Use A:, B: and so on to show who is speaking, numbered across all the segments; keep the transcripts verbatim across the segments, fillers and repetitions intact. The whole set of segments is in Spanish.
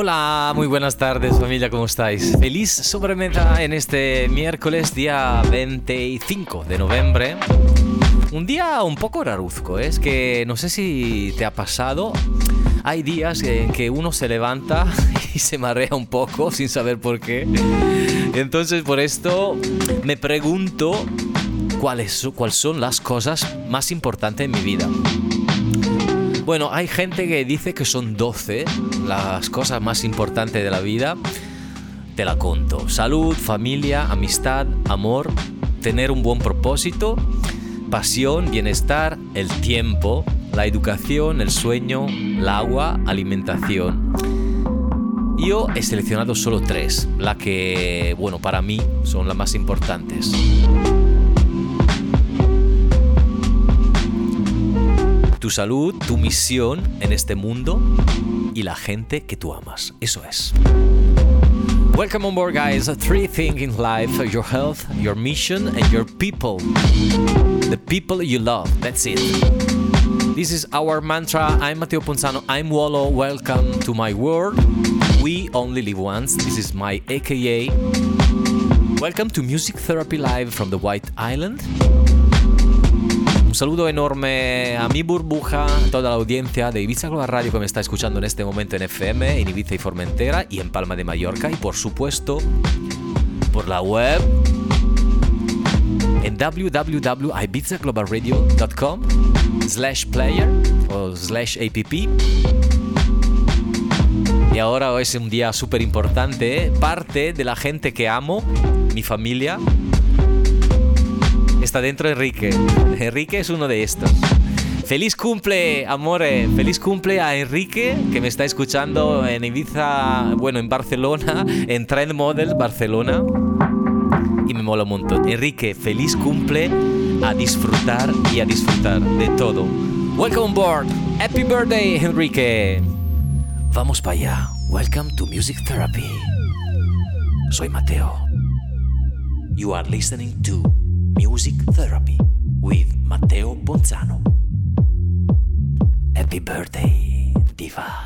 A: Hola, muy buenas tardes familia, ¿cómo estáis? Feliz sobremesa en este miércoles día veinticinco de noviembre. Un día un poco raruzco, ¿eh? Es que no sé si te ha pasado. Hay días en que uno se levanta y se marea un poco sin saber por qué. Entonces por esto me pregunto cuáles, cuáles son las cosas más importantes en mi vida. Bueno, hay gente que dice que son doce las cosas más importantes de la vida. Te la conto. Salud, familia, amistad, amor, tener un buen propósito, pasión, bienestar, el tiempo, la educación, el sueño, el agua, alimentación. Yo he seleccionado solo tres, las que, bueno, para mí son las más importantes. Tu salud, tu misión en este mundo y la gente que tú amas. Eso es. Welcome on board, guys. Three things in life: your health, your mission, and your people. The people you love. That's it. This is our mantra. I'm Matteo Ponzano. I'm Wolo. Welcome to my world. We only live once. This is my A K A. Welcome to Music Therapy Live from the White Island. Un saludo enorme a mi burbuja, a toda la audiencia de Ibiza Global Radio que me está escuchando en este momento en F M, en Ibiza y Formentera y en Palma de Mallorca, y por supuesto por la web en w w w punto ibiza global radio punto com slash player o slash app. Y ahora hoy es un día súper importante, ¿eh? Parte de la gente que amo, mi familia, está dentro Enrique. Enrique es uno de estos. Feliz cumple, amore. Feliz cumple a Enrique, que me está escuchando en Ibiza, bueno, en Barcelona, en Trend Model Barcelona. Y me mola un montón. Enrique, feliz cumple, a disfrutar y a disfrutar de todo. Welcome on board. Happy birthday, Enrique. Vamos para allá. Welcome to Music Therapy. Soy Mateo. You are listening to Music Therapy with Matteo Ponzano. Happy birthday, diva.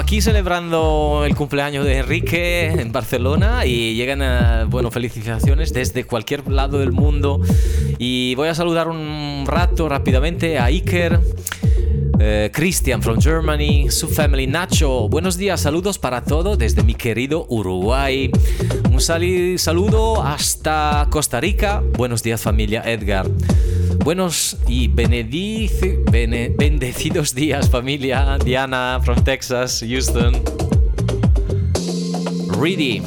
A: aquí celebrando el cumpleaños de Enrique en Barcelona y llegan, uh, bueno, felicitaciones desde cualquier lado del mundo. Y voy a saludar un rato rápidamente a Iker, uh, Christian from Germany, su family, Nacho. Buenos días, saludos para todo desde mi querido Uruguay. Un sal- saludo hasta Costa Rica. Buenos días, familia, Edgar. Buenos y benedici- bene- bendecidos días, familia. Diana from Texas, Houston. Ready.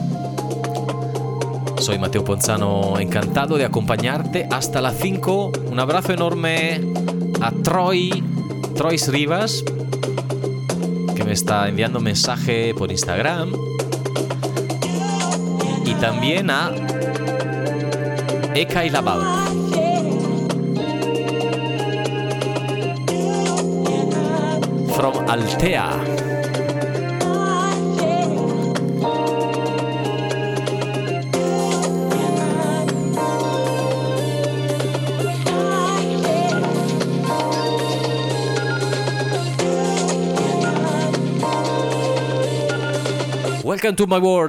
A: Soy Mateo Ponzano, encantado de acompañarte hasta las cinco. Un abrazo enorme a Troy, Troy Rivas, que me está enviando mensaje por Instagram. Y también a Eka y Labal. From Altea. Welcome to my world.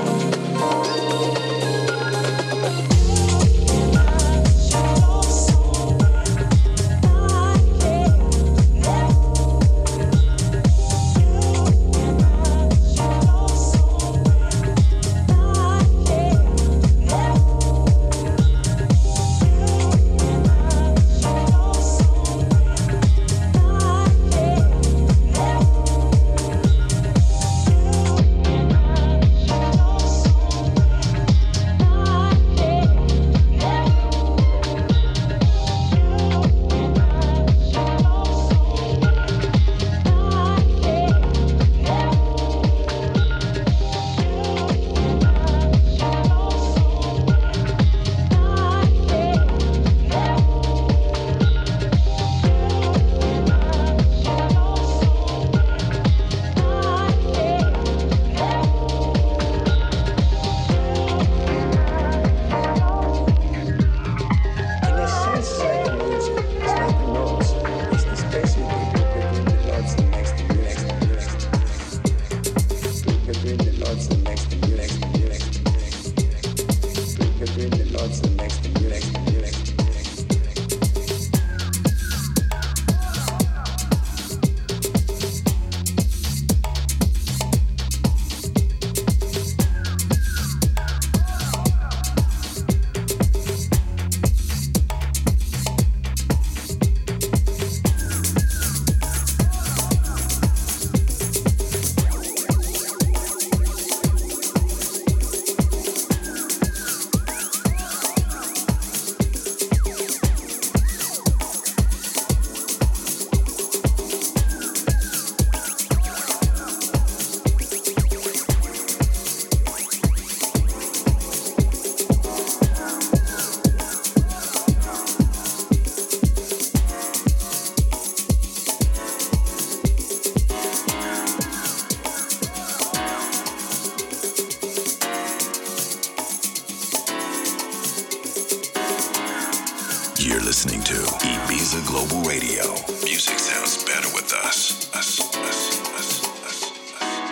B: You're listening to Ibiza Global Radio. Music sounds better with us. Us, us, us, us, us.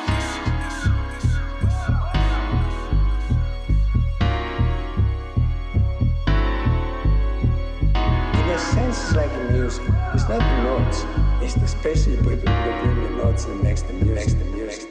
C: In a sense, it's like a music. It's not the notes. It's the special people between the notes and makes the music. Makes the music.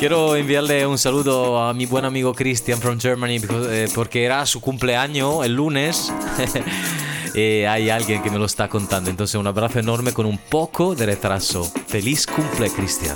A: Quiero enviarle un saludo a mi buen amigo Christian from Germany because, eh, porque era su cumpleaños el lunes. Y hay alguien que me lo está contando. Entonces un abrazo enorme con un poco de retraso. Feliz cumple, Christian.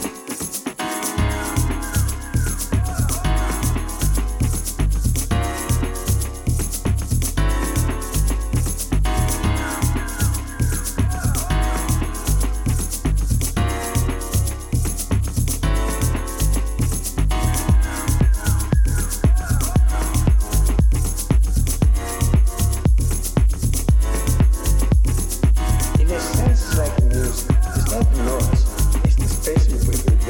C: In a sense, like music, it's not notes, it's the space you put in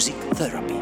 D: Music Therapy.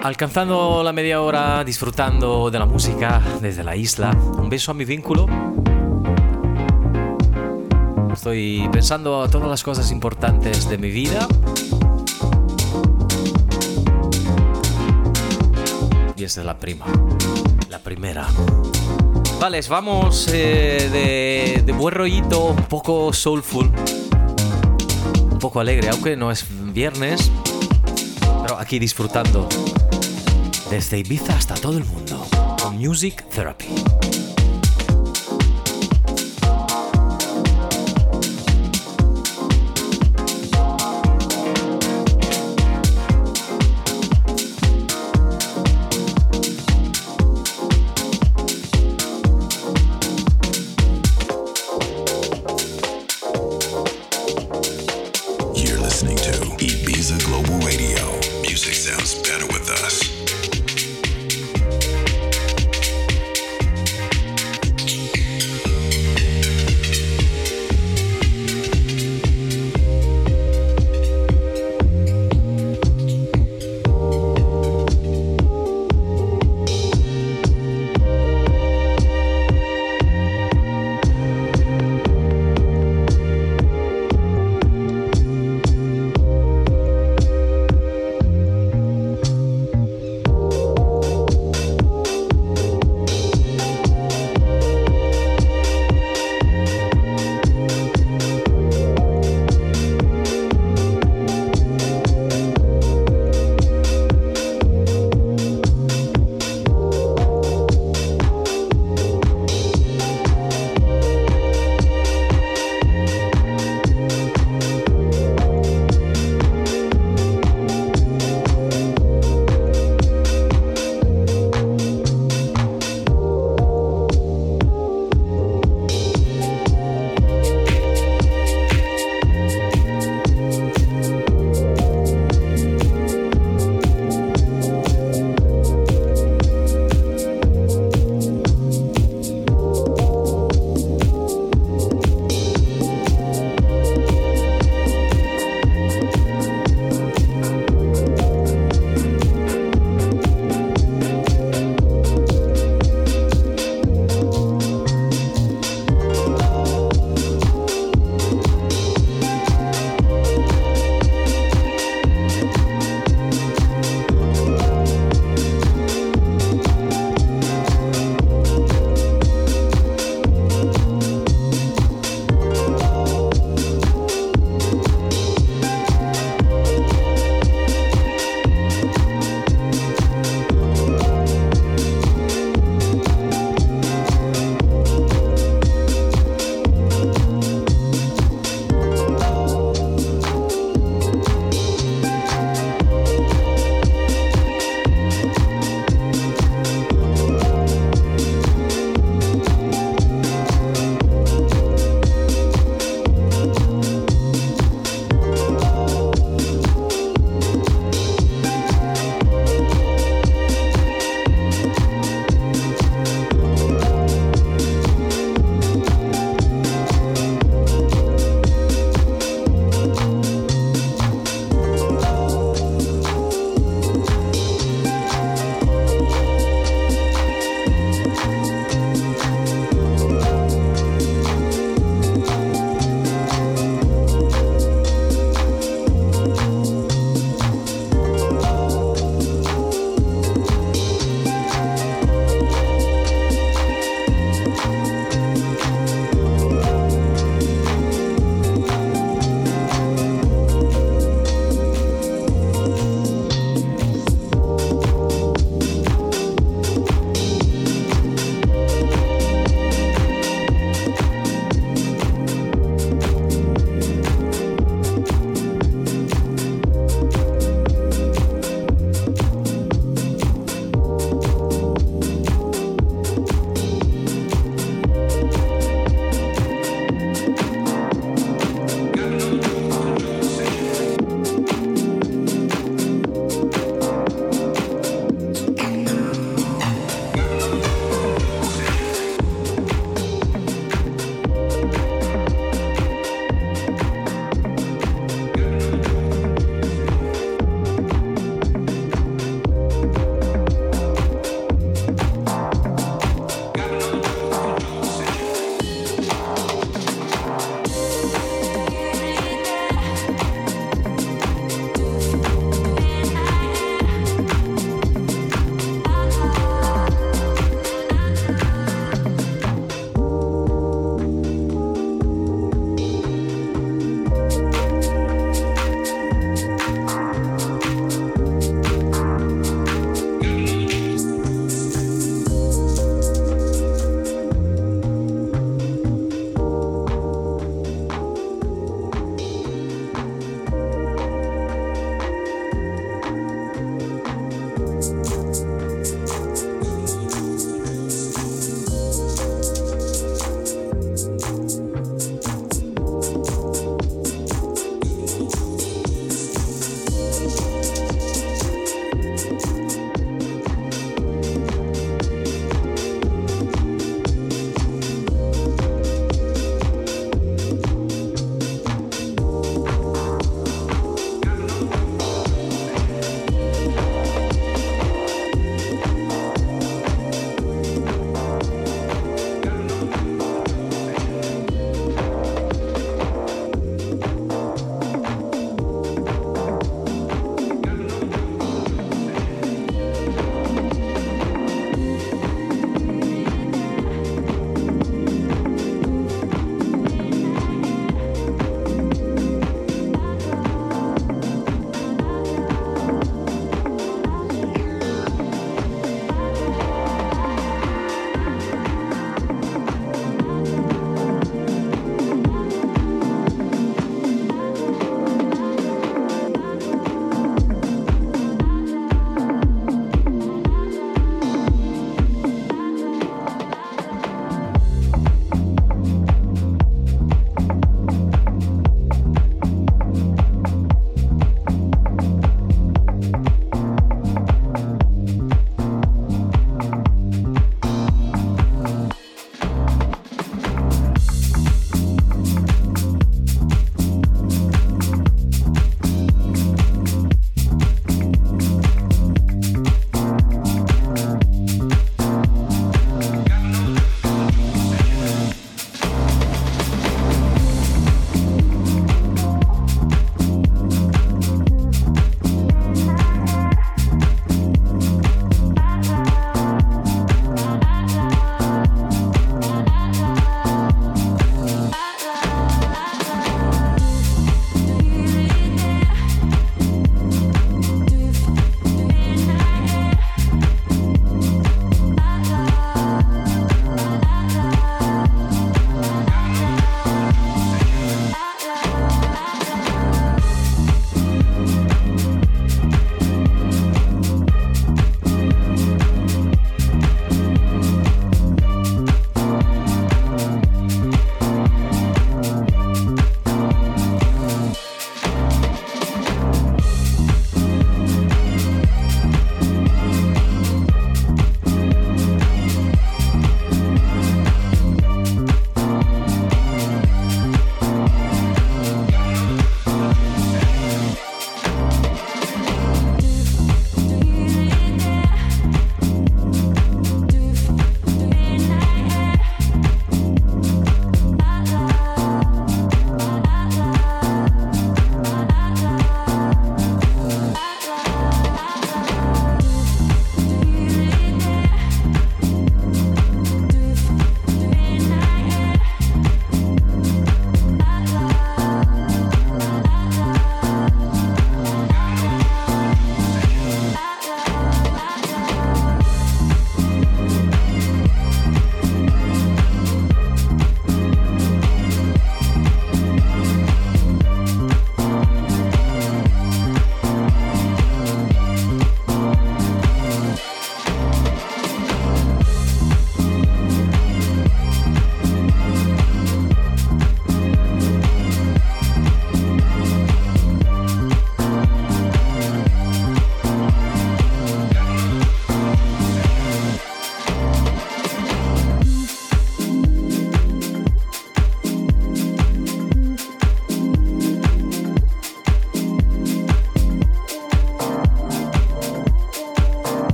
A: alcanzando la media hora, disfrutando de la música desde la isla. Un beso a mi vínculo. Estoy pensando a todas las cosas importantes de mi vida. Y esta es la prima, la primera. Vale, vamos eh, de, de buen rollito, un poco soulful, un poco alegre, aunque no es viernes, pero aquí disfrutando desde Ibiza hasta todo el mundo con Music Therapy.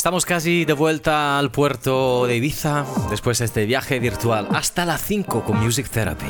A: estamos casi de vuelta al puerto de Ibiza después de este viaje virtual hasta las cinco con Music Therapy.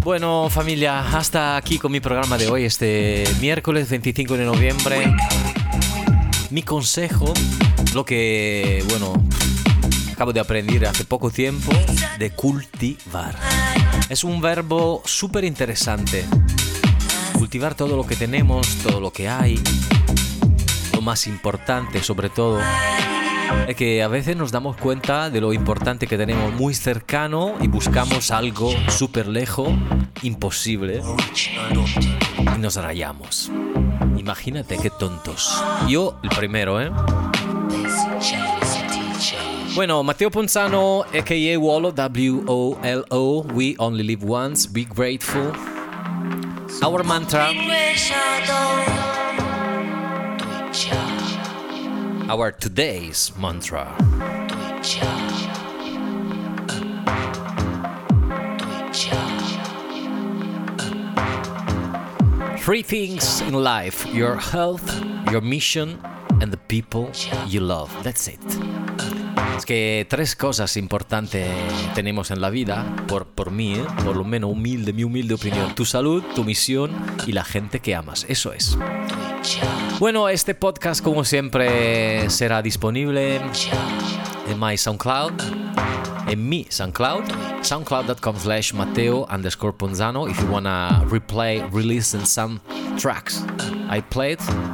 A: Bueno, familia, hasta aquí con mi programa de hoy, este miércoles veinticinco de noviembre. Mi consejo, lo que, bueno, acabo de aprender hace poco tiempo, de cultivar. Es un verbo súper interesante. Cultivar todo lo que tenemos, todo lo que hay. Lo más importante, sobre todo, es que a veces nos damos cuenta de lo importante que tenemos muy cercano y buscamos algo súper lejos, imposible, y nos rayamos. Imagínate qué tontos. Yo el primero, ¿eh? Bueno, Matteo Ponzano, a k a. Wolo, W O L O, We Only Live Once, Be Grateful. Our mantra, our today's mantra. Three things in life: your health, your mission, and the people you love. That's it. Es que tres cosas importantes tenemos en la vida, por, por mí, ¿eh? Por lo menos humilde, mi humilde opinión. Tu salud, tu misión y la gente que amas. Eso es. Bueno, este podcast, como siempre, será disponible en my SoundCloud, en mi SoundCloud, soundcloud.com slash Matteo underscore Ponzano. If you wanna replay, re-listen some tracks I played.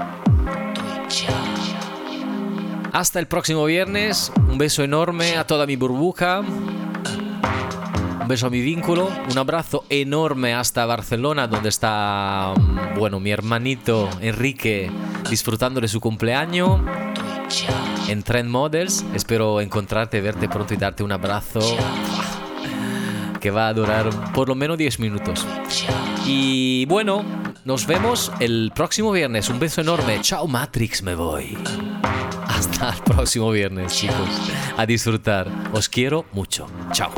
A: Hasta el próximo viernes. Un beso enorme a toda mi burbuja. Un beso a mi vínculo. Un abrazo enorme hasta Barcelona, donde está, bueno, mi hermanito Enrique disfrutando de su cumpleaños en Trend Models. Espero encontrarte, verte pronto y darte un abrazo que va a durar por lo menos diez minutos. Y bueno, nos vemos el próximo viernes. Un beso enorme. Chao Matrix, me voy. Hasta el próximo viernes, chicos. A disfrutar. Os quiero mucho. Chao.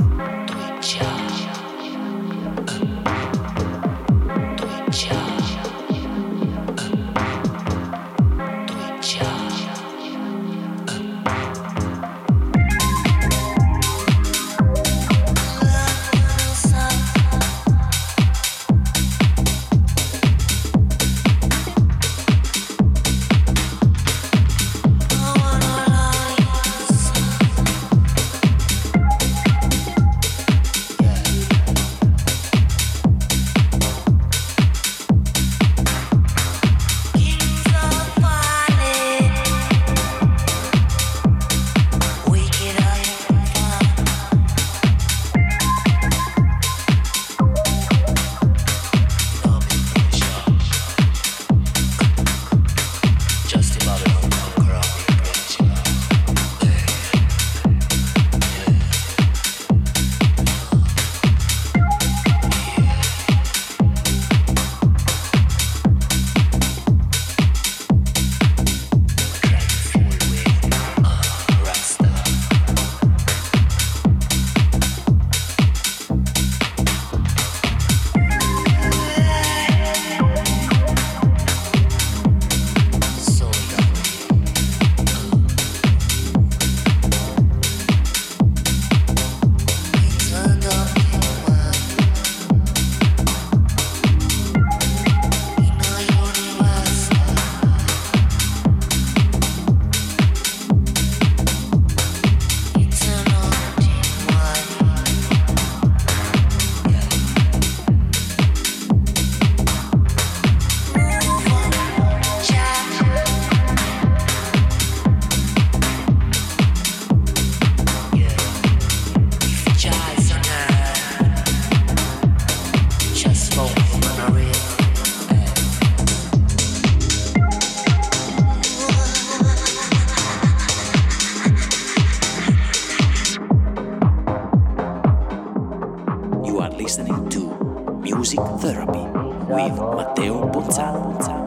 D: Music Therapy with Matteo Ponzano.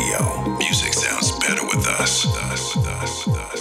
B: Radio. Music sounds better with us. With us, with us, with us.